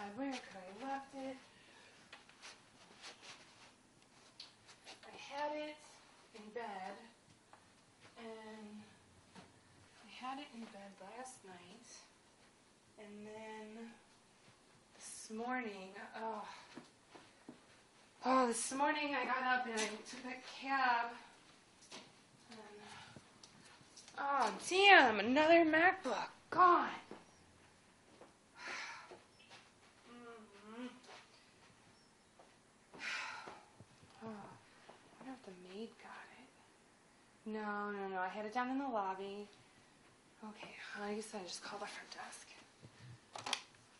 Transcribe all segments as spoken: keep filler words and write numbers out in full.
where could I have left it? I had it in bed, and I had it in bed last night, and then this morning, oh, oh, this morning I got up and I took that cab, and, oh, damn, another MacBook, gone. The maid got it. No, no, no. I had it down in the lobby. Okay, I guess I just called the front desk.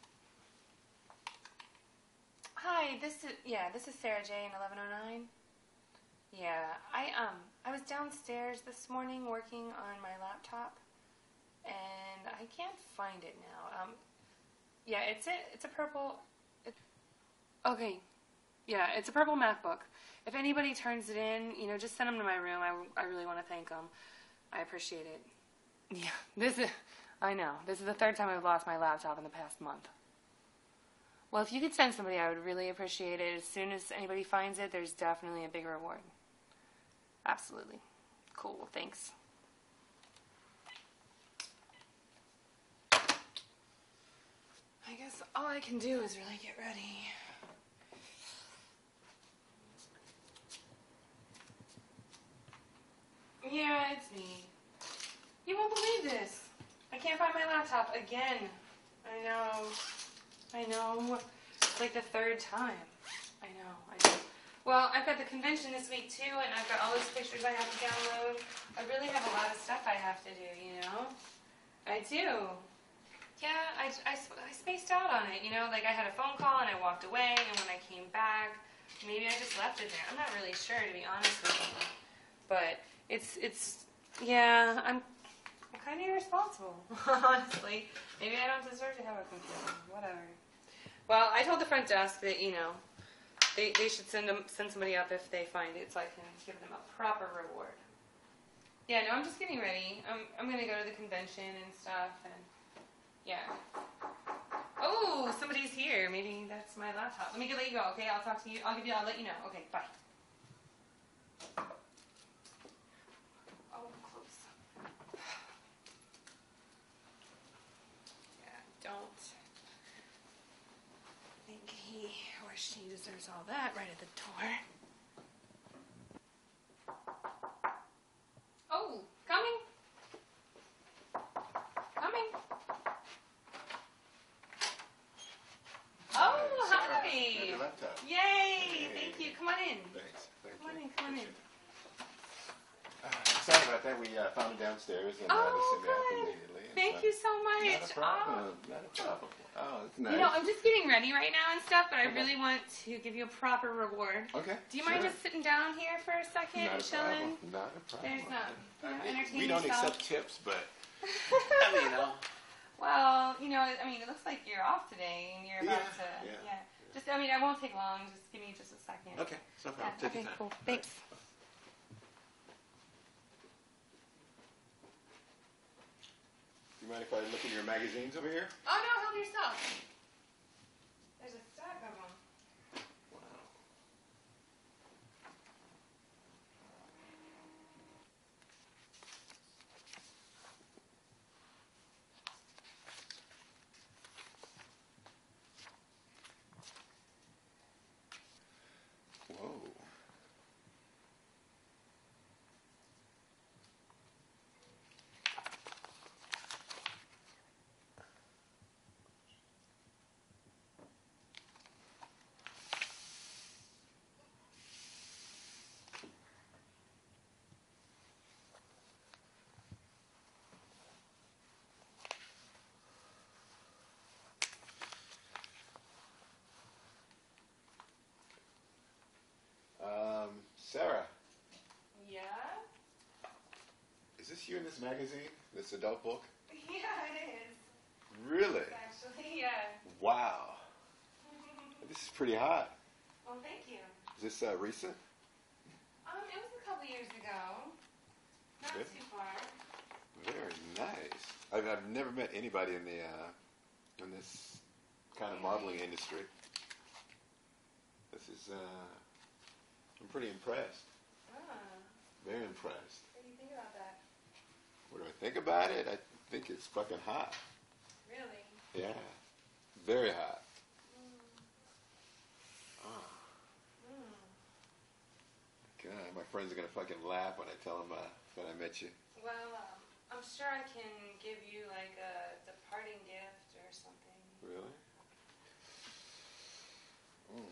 Hi, this is yeah, this is Sarah J in eleven oh nine. Yeah, I um I was downstairs this morning working on my laptop, and I can't find it now. Um, yeah, it's it. It's a purple. It, okay. Yeah, it's a purple MacBook. If anybody turns it in, you know, just send them to my room. I, I really want to thank them. I appreciate it. Yeah, this is, I know. This is the third time I've lost my laptop in the past month. Well, if you could send somebody, I would really appreciate it. As soon as anybody finds it, there's definitely a big reward. Absolutely. Cool, thanks. I guess all I can do is really get ready. Yeah, it's me. You won't believe this. I can't find my laptop again. I know. I know. It's like the third time. I know. I know. Well, I've got the convention this week too, and I've got all those pictures I have to download. I really have a lot of stuff I have to do, you know? I do. Yeah, I, I, I spaced out on it, you know? Like I had a phone call and I walked away, and when I came back, maybe I just left it there. I'm not really sure, to be honest with you. But It's, it's, yeah, I'm, I'm kind of irresponsible, honestly. Maybe I don't deserve to have a computer, whatever. Well, I told the front desk that, you know, they, they should send them, send somebody up if they find it so I can give them a proper reward. Yeah, no, I'm just getting ready. I'm, I'm going to go to the convention and stuff, and, yeah. Oh, somebody's here. Maybe that's my laptop. Let me let you go, okay? I'll talk to you. I'll give you, I'll let you know. Okay, bye. Don't think he or she deserves all that right at the door. Oh, coming. Coming. Oh, hi. Your laptop. Yay. Hey. Thank you. Come on in. Thanks. Thank come you. on in, come on in. Uh, sorry about that. We uh, found it downstairs and uh, Oh, we sent it up good. immediately. Thank so, you so much. Not a problem. Oh. Not a problem. Oh, that's nice. You know, I'm just getting ready right now and stuff, but I Okay. really want to give you a proper reward. Okay. Do you sure. mind just sitting down here for a second Not and a chilling? problem. Not a problem. There's not. You know, I mean, entertain we don't yourself. accept tips, but I mean, you know. Well, you know, I mean, it looks like you're off today, and you're about Yeah, to. yeah. Yeah. Just, I mean, I won't take long. Just give me just a second. Okay. No problem. Yeah, Take okay, your time. cool. Thanks. You mind if I look in your magazines over here? Oh no, help yourself. There's a stack of them. Wow. Whoa. Um, Sarah, Yeah? is this you in this magazine? This adult book? Yeah, it is. Really? Actually, yeah. Wow. This is pretty hot. Well, thank you. Is this uh, recent? Um, it was a couple years ago. Not Good. too far. Very nice. I've, I've never met anybody in the uh, in this kind of modeling industry. This is, uh, I'm pretty impressed. Ah, Very impressed. what do you think about that? What do I think about it? I think it's fucking hot. Really? Yeah. Very hot. Mm. Oh, Mm. God, my friends are gonna fucking laugh when I tell them uh, that I met you. Well, um, I'm sure I can give you like a departing gift or something. Really? Mm.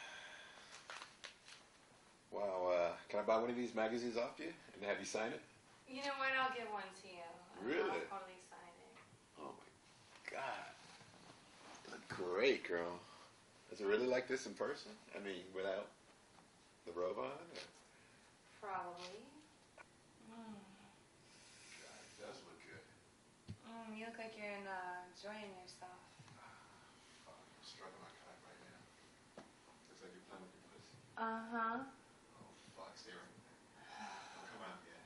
Wow, uh, can I buy one of these magazines off you and have you sign it? You know what? I'll give one to you. Really? I'll totally sign it. Oh my God. You look great, girl. Is it really like this in person? I mean, without the robe on? Or? Probably. Mm. God, it does look good. Mm, you look like you're in, uh, enjoying yourself. Fuck, I'm struggling my cock right now. Looks like you're playing with your pussy. Uh-huh. Oh, fuck, stay right there. Don't come out yet.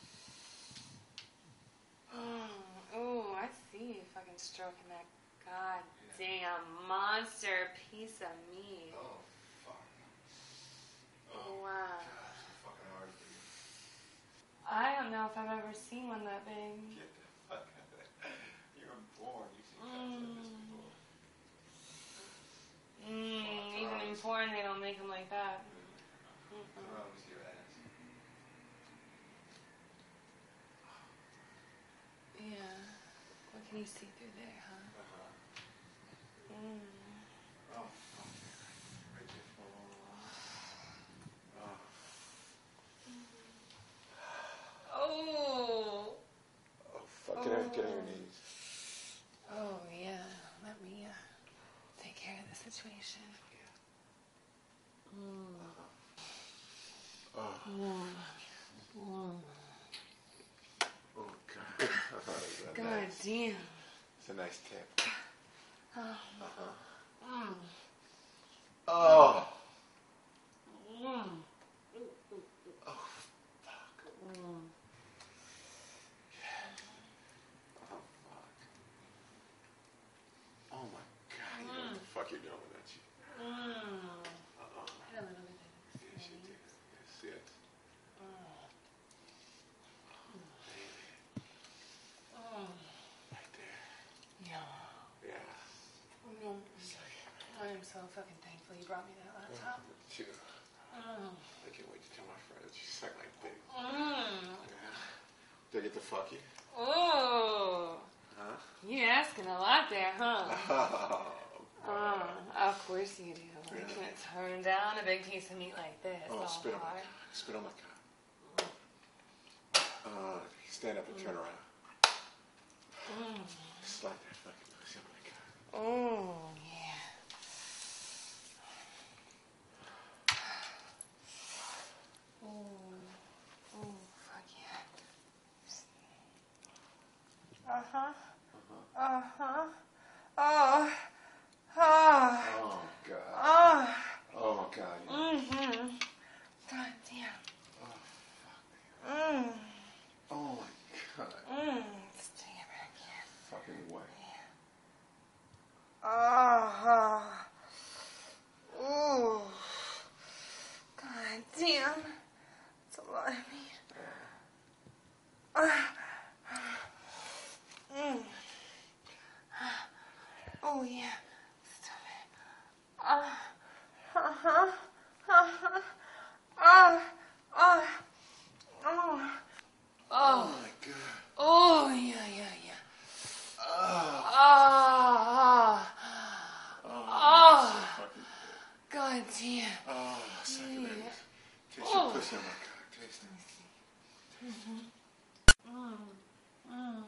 Mm. Ooh, I see you fucking stroking that goddamn monster piece of meat. Oh, fuck. Oh, Wow. God, it's so fucking hard for you. I don't know if I've ever seen one that big. Get the fuck out of there. You're born. You've seen cocks like this before. Mmm, even in porn they don't make them like that. Turn around, let me see your ass. Yeah. What can you see through there, huh? Uh-huh. Mmm. Oh, fuck. Right there. Oh. Oh. Oh, fuck. Get on, get on your knees. Oh, yeah. Let me uh, take care of the situation. Mm. Oh. Mm. Mm. Oh, God. I thought it was that God nice. damn. It's a nice tip. Oh. Uh-huh. Mm. Oh. Mm. Oh, fuck. Mm. Oh, fuck. Oh, my God. You know what the fuck you're doing with that shit. Mm. Uh-uh. Hit a little bit of this. Yes, you did. Yes, yes. Mm. Right there. Yeah. Yeah. Mm. I am so fucking thankful you brought me that laptop. Sure. Mm. I can't wait to tell my friends. You suck my dick. Mm. Yeah. Did I get to fuck you? Oh. Huh? You asking a lot there, huh? Oh, Uh, of course you do. You Yeah. can't turn down a big piece of meat like this. oh all spit on my hard. cock. Spit on my cock. Uh, stand up and turn around. Mm. Slide that fucking pussy on my cock. Oh, yeah. Oh, oh, fuck yeah. Uh-huh. Uh-huh. Oh. Oh. Oh, God. Oh. Oh, God. You Mm-hmm. God damn. oh, fuck. Mm. Oh, my God. Mm. Let's take it back here. Fucking way. Ah. Ooh. God damn. That's a lot of meat. Ah. Mm. Oh, yeah. Stop it. Ah. Uh-huh. Uh-huh. Ah. Ah. Oh. Oh, Oh. my God. Oh, yeah, yeah, yeah. Oh. Ah. Oh. Oh. So fucking God damn. Oh, suck it, baby. Yeah. Taste Oh. your pussy on my cock. Taste it. Mm. Mm.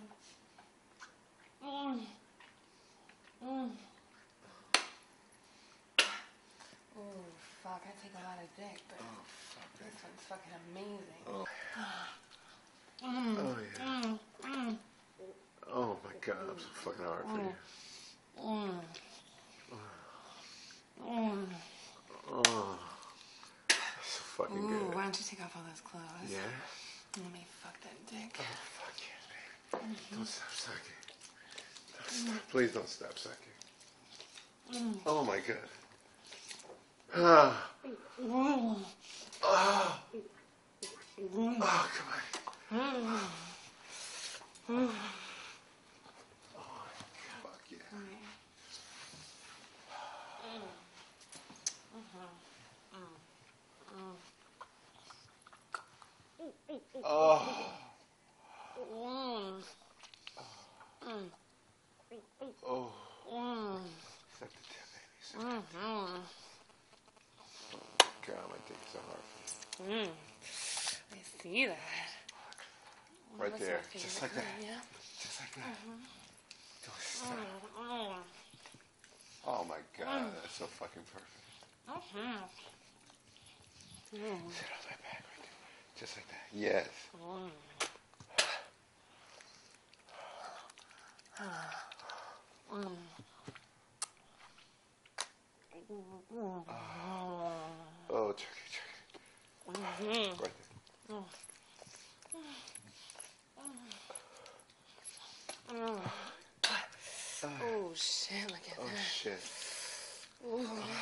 Mm. Mm. Oh, fuck. I take a lot of dick, but Oh, fuck, this baby. one's fucking amazing. Oh. Mm. Oh, yeah. Mm. Mm. Oh, my God. I'm so fucking hard for you. Mm. Mm. Oh. That's so fucking Ooh, good. why don't you take off all those clothes? Yeah? Let me fuck that dick. Oh, fuck yeah, baby. Don't stop sucking. Don't stop. Please don't stop sucking. Oh my god. Ah. Mm. Oh. Oh, come on. Mm. Oh, fuck yeah. Oh. Mm. Mm. Oh. Mm. Suck the tip, baby. Suck the tip. Mm. God, my dick is so hard for you. Mm. I see that. Right That's there. my Just favorite like that. kind, yeah. Just like that. Don't stop. Mm. Oh my god, that's so fucking perfect. Mm. Sit on my back right there. Just like that. Yes. Mm. Mm. Oh, turkey, turkey. Mm-hmm. Right there. Mm. Mm. Oh shit, look at Oh that. shit. Ooh.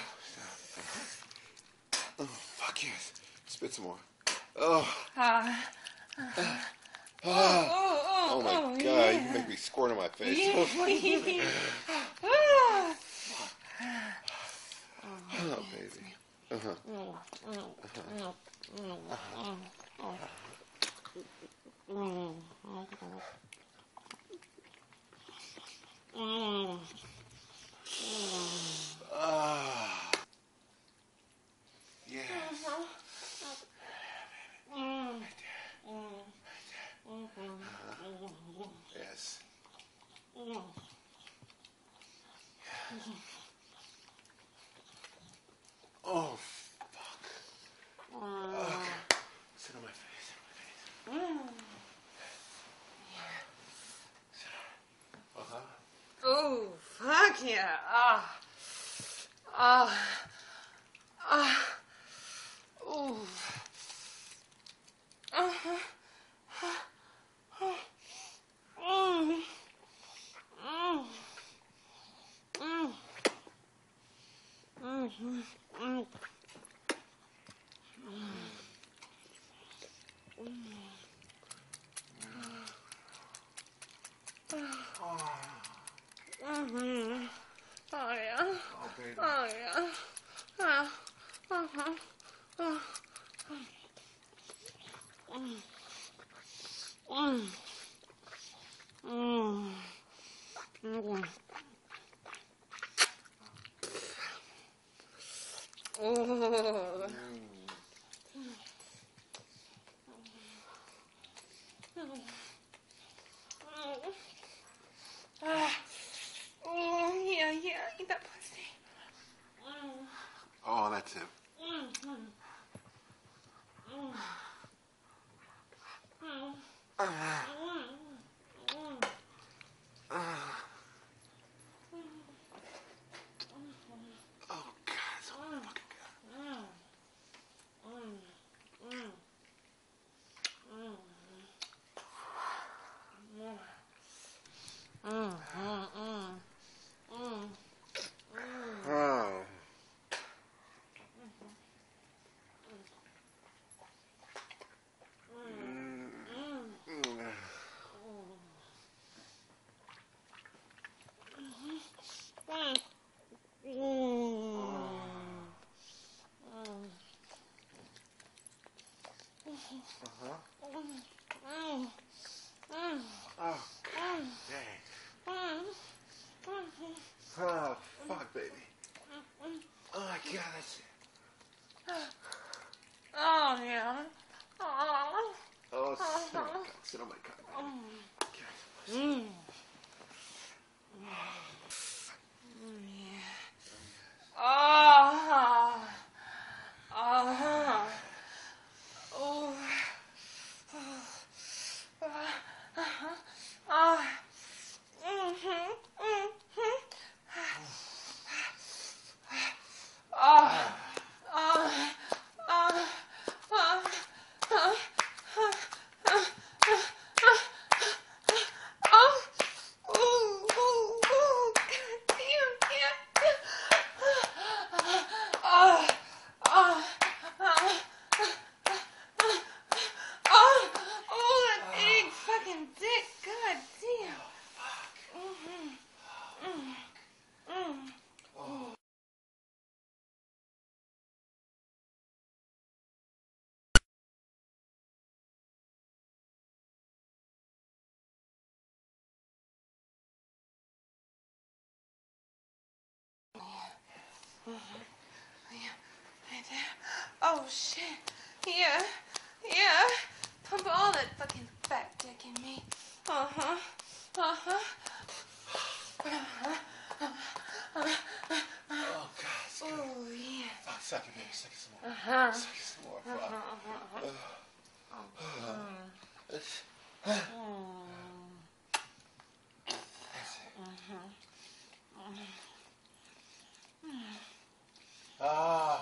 Oh, fuck yes. Spit some more. Oh. Ah. Ah. Oh, oh, Oh my oh, god, yeah. you can make me squirt on my face. Yeah. Oh, baby. Uh-huh. Ah. Yes. Yes. Oh, fuck. Okay. Sit on my face. Sit on my face. Uh-huh. Oh, fuck yeah. Ah. Ah. Ah. Ooh. Uh-huh. Mm. Mm. Mm. Mm. Mm. Mm-hmm. Oh yeah. Oh, baby. Oh yeah. Ah. Uh-huh. Ah. Mm. Mm. Mm. Mm. Oh. Ah. Oh, yeah, yeah, eat that pussy. Mm. Oh, that's it. Mm. Mm. Mm. Mm. Ah. Mm. Ah. Oh, God, so fucking good. Mm. Mm. Mm. Mm. Mm. Mm. Mm. Mm. Oh. Oh, God dang. Oh, fuck, baby. Oh, my God, that's it. Oh, yeah. Oh. Oh, sit on my cock. Sit on my cock, baby. Mm. Oh. Oh. Oh. Oh. Mhm. Mhm. Oh. Oh. Yeah, right there. Oh shit. Yeah, yeah. Pump all that fucking fat dick in me. Uh huh. Uh huh. Oh, God. It's good. Oh yeah. Fuck, suck it, baby. Suck it some more. Uh huh. Suck it some more. Fuck. Uh huh. It's- Uh Ah.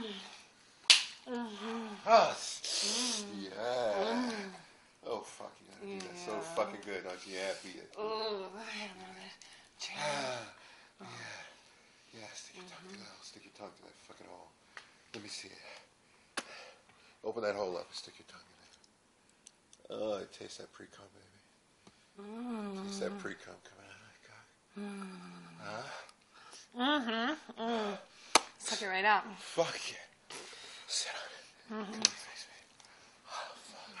Ah. Yeah. Oh, fuck. You gotta do that so fucking good, aren't you? Yeah, beat it. Oh, I don't know that. Ah. Yeah. Yeah, stick your tongue to that hole. Stick your tongue to that fucking hole. Let me see it. Open that hole up and stick your tongue in it. Oh, I taste that pre-cum, baby. Mm. Taste that pre-cum coming out of that cock. Huh? Mm-hmm. Mm. Suck it right out. Fuck yeah. Sit on it. Come on, face me. Oh, fuck.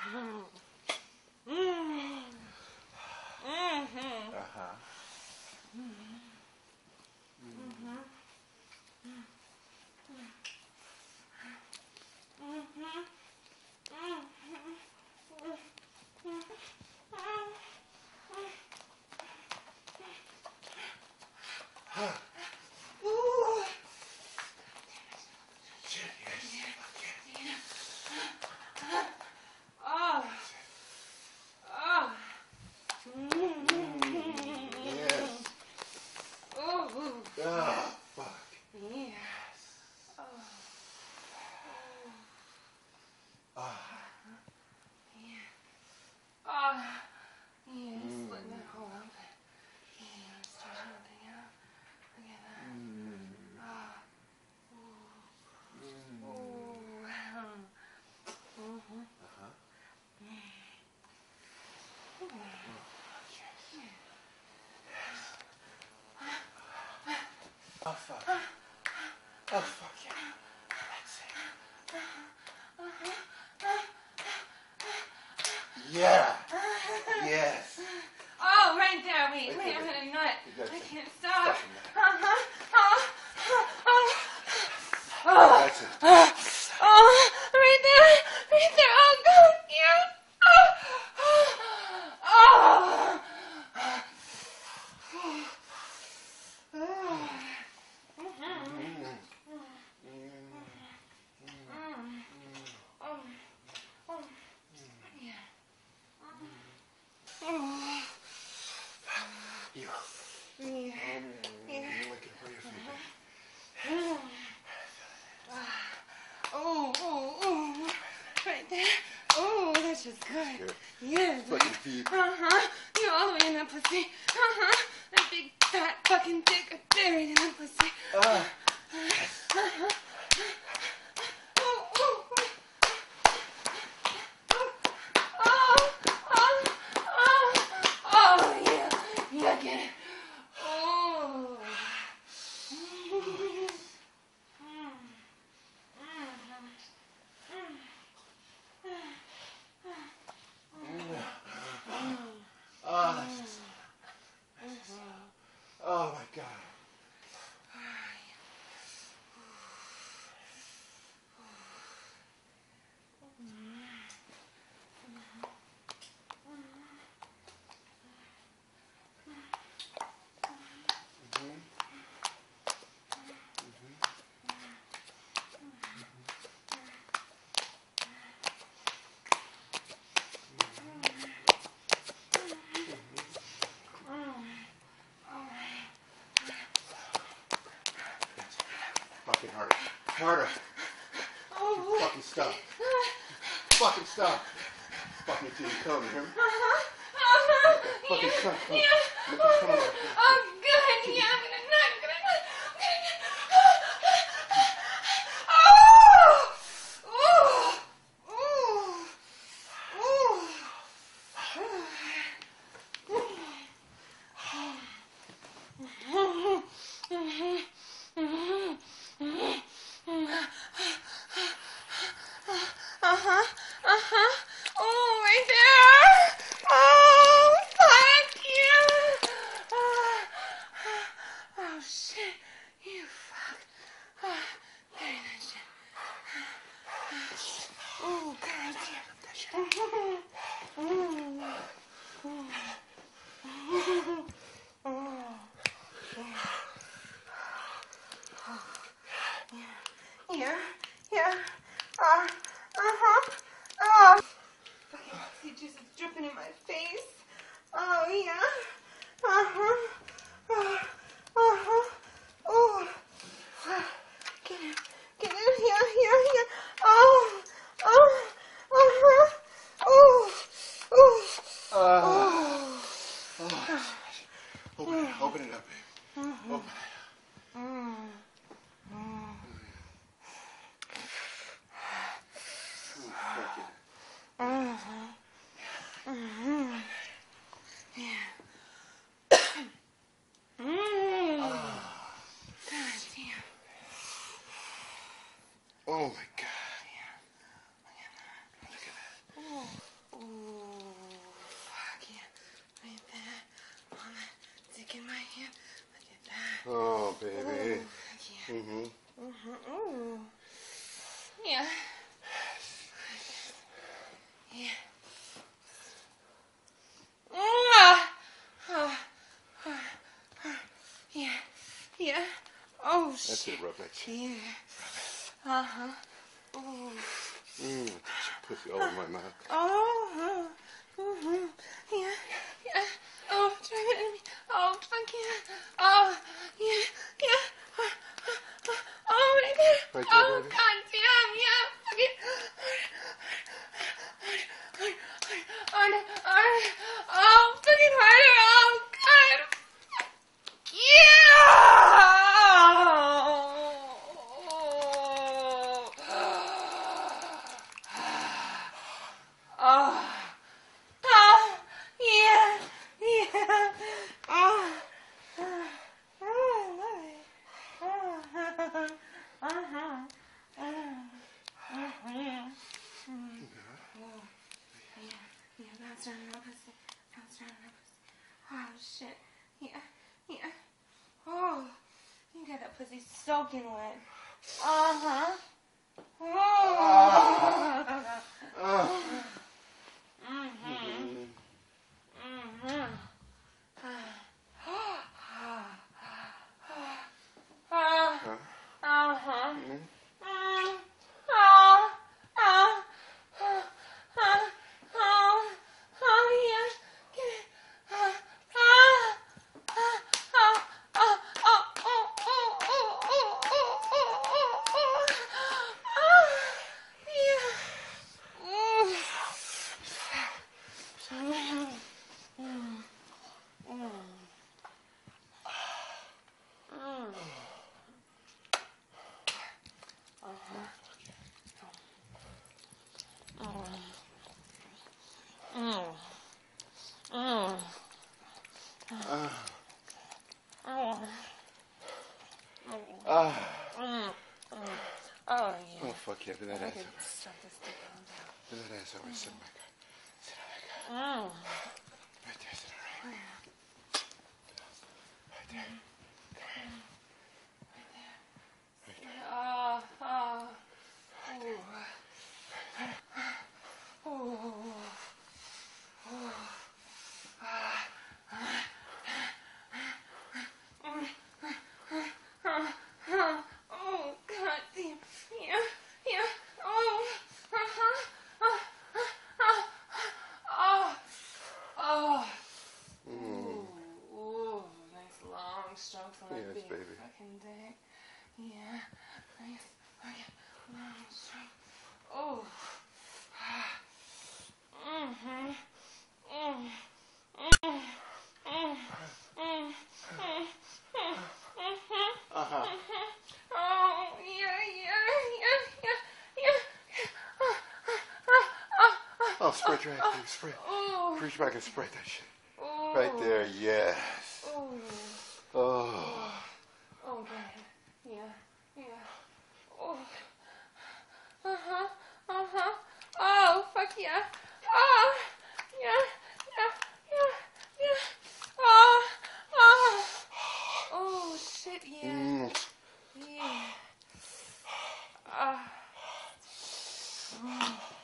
Mm. Mm-hmm. Uh-huh. Ooh. Shit, yes. Fuck yeah. Oh. Oh. Yes. Ooh. Ah, fuck. Yes. Oh. Ah. Yeah. Oh. Yeah, splitting that hole open. Yeah, stretching everything out. Look at that. Ah. Ooh. Ooh. Mm-hmm. Uh-huh. Oh, fuck. Oh, fuck yeah. That's it. Yeah. Yes. Oh, right there. Wait, Wait, wait, wait, I'm wait. gonna nut. That's I it. can't stop. Fucking nut. Uh-huh. Oh, oh, oh. That's it. Oh, oh, right there. Right there. Oh, God. Yeah. Oh, oh, oh. You. Yeah. You Yeah. lick it where your feet. Oh, oh, oh. Right there. Oh, that's just good. Good. Yes. Fucking feet. Uh-huh. You're all the way in that pussy. Uh-huh. That big fat fucking dick buried in that pussy. Ah. Uh-huh. Oh, oh, oh. Oh, oh, oh, oh, yeah. Yeah, get it. Oh. Ah, that's just... Oh, my God. Fucking harder. Harder. Oh. Fucking stop. Fucking stop. Fucking until you come, you hear me? Uh-huh. Uh-huh. Fucking Yeah. come, come. Yeah. Make it come on. Oh, good. Yeah, I'm gonna nut. I'm gonna nut. I'm gonna nut. Oh! Ooh! Ooh! Uh-huh. Uh-huh. Oh, right there. Oh, fuck you. Oh, oh shit. You fuck. Oh, God. Yeah, yeah. Uh, uh-huh. Oh. Okay, see, juice is dripping in my face. Oh, yeah. Uh-huh. Uh, uh-huh. Oh. Get in. Get in. Yeah, yeah, yeah. Oh. Oh. Uh-huh. Oh. Oh. Uh, Oh. oh. Open it, open it up, babe. Mm-hmm. Open it. Mm. Mm. Ooh, fuck yeah. Mm-hmm. Mm-hmm. Yeah. Mm. Ah. God damn. Oh my God. Ooh. Ooh. Fuck yeah. Right there. On that dick in my hand. Look at that. Oh, baby. Ooh. Yeah. Mm-hmm. Mm-hmm. Ooh. Yeah. Yeah. Ah. Ah. Ah. Ah. Yeah. Yeah. Oh, That's shit. it, rub that shit. Yeah. Uh-huh. Ooh. Mmm, touch your pussy all over my mouth. Oh. Mm-hmm. Yeah. Yeah. Oh, drive it in me. Oh, fuck yeah. Oh, yeah. Yeah. Ah, ah, ah. Oh, my God. Right there, Oh, baby. God damn. Yeah. Fuck it. Oh, fucking harder. Oh, God. Oh, oh, yeah, yeah. Oh, oh, I love it. Oh, uh-huh. Uh-huh. Yeah. Mm. Oh, yeah, yeah, that's our pussy. That's our pussy. Oh, shit. Yeah, yeah. Oh, you got that pussy soaking wet. Uh-huh. Oh. Ah. Mm-hmm. Mm-hmm. Huh? Uh-huh. Mm-hmm. Mm. Oh. Oh. Oh. Oh. Oh. Oh, yeah. Get it. Oh. Oh. Oh. Oh. Oh. Oh. Oh. Oh. Oh. Oh. Oh. Oh. Oh. Yeah. Mm. Mm. Mm. Mm. Mm. Uh-huh. Mm. Mm. Mm. Ah. Oh. Ah. Mm. Mm. Oh, yeah. Oh, fuck yeah. Bend that I ass could over. stuff this dick on down. Bend that ass over. Sit on my God. Sit on my God. Mm. Right there. Sit on right. Right there. Right there. Oh, oh. Ooh. Ooh. Ooh. Ah. Oh, God damn. Yeah, yeah. Oh, uh-huh. Uh, uh, uh, oh, oh. Ooh, ooh, nice long strokes on that Yes, big baby. fucking dick. Yeah, nice, okay, long stroke. Oh. Mm-hmm. Mm. Mm. Mm. Mm. Mm. Mm. Uh-huh. Oh, yeah, yeah, yeah, yeah, yeah. Oh, oh, oh, oh, Oh, spread your ass, baby. Spread. oh. Reach back and spread that shit. Oh. Right there. Yes. Oh. Oh. Oh, go ahead. Yeah, yeah. Oh. Uh-huh, uh-huh. Oh, fuck yeah. Oh, yeah, yeah, yeah, yeah. Oh, oh. Oh, shit, yeah. Mm. Yeah. Ah. Mm.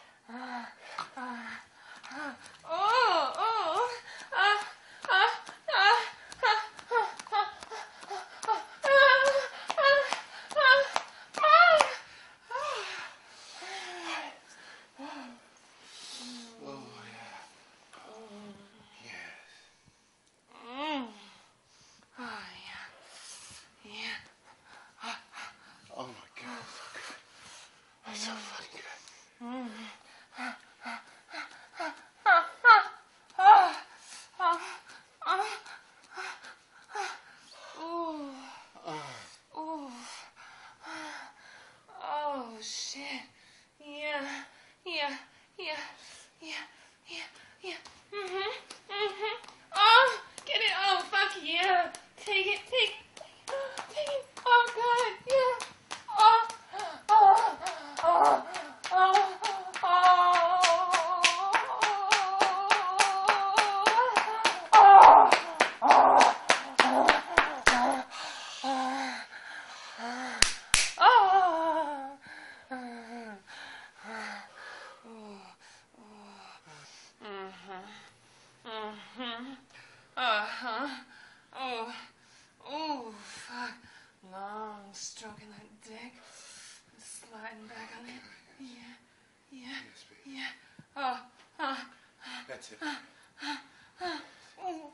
That's it. Oh,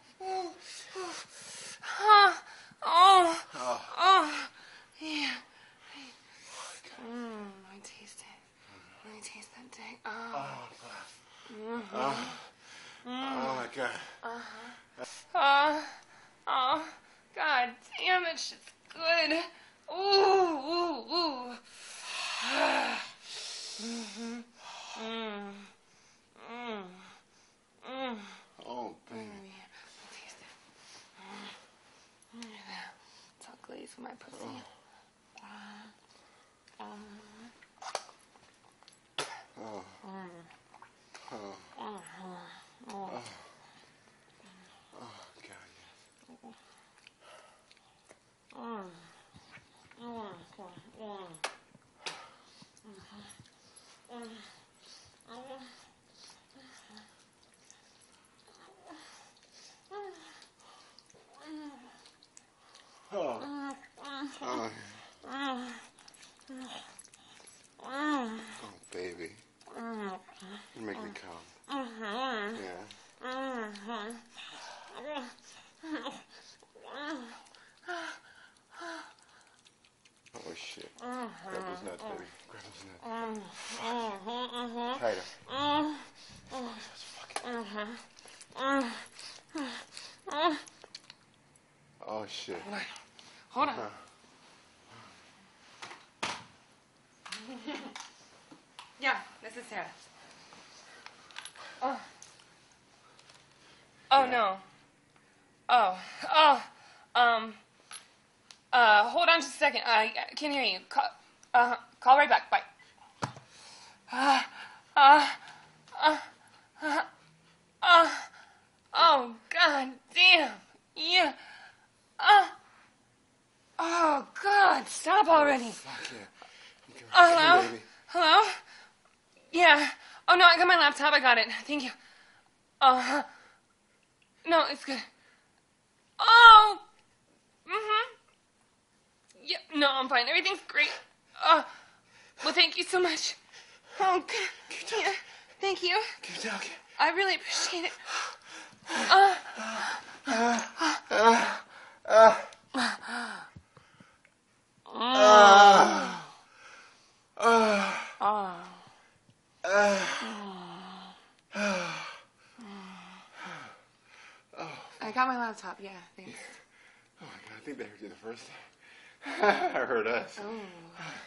oh, Oh. oh, yeah. Mmm, I taste it. I taste that dick. Oh. Oh, God. Mm-hmm. Oh. Oh, my God. Uh-huh. Oh, oh, God damn, that shit's good. Ooh, ooh, ooh. Mm-hmm. Mm. Mm. Mm. Oh, baby. Mm, yeah. I taste it. Mm. Mm, yeah. It's all glazed with my pussy. Oh. Um. Oh. Mm. Oh. Oh. Oh. Oh. Oh, God, yes. Mm. Mm. Mm. Mm. Mm. Oh. Oh. Oh, baby. You make me come. Yeah. Oh, shit. Grab those nuts, baby. Grab those nuts. Tighter. Oh, that's fucking... Oh, shit. Hold on. Hold on. Yeah, this is Sarah. Oh. Oh, no. Oh. Oh. Um. Uh, hold on just a second. I can't hear you. Call, uh, call right back. Bye. Uh, uh, uh, uh, uh, oh, God damn. Yeah. Uh, oh, God. Stop already. Fuck yeah. Okay, Uh, hello? hey, baby. Hello? Yeah. Oh, no, I got my laptop. I got it. Thank you. Uh, no, it's good. Oh! Mm-hmm. Yeah, no, I'm fine. Everything's great. Uh, well, thank you so much. Oh, good. Yeah, thank you. Keep talking. I really appreciate it. Uh, Uh, uh, uh, mm. uh, uh, Oh. uh, I got my laptop. Yeah, thanks. Oh, my God. I think they heard you the first time. I heard us. Oh.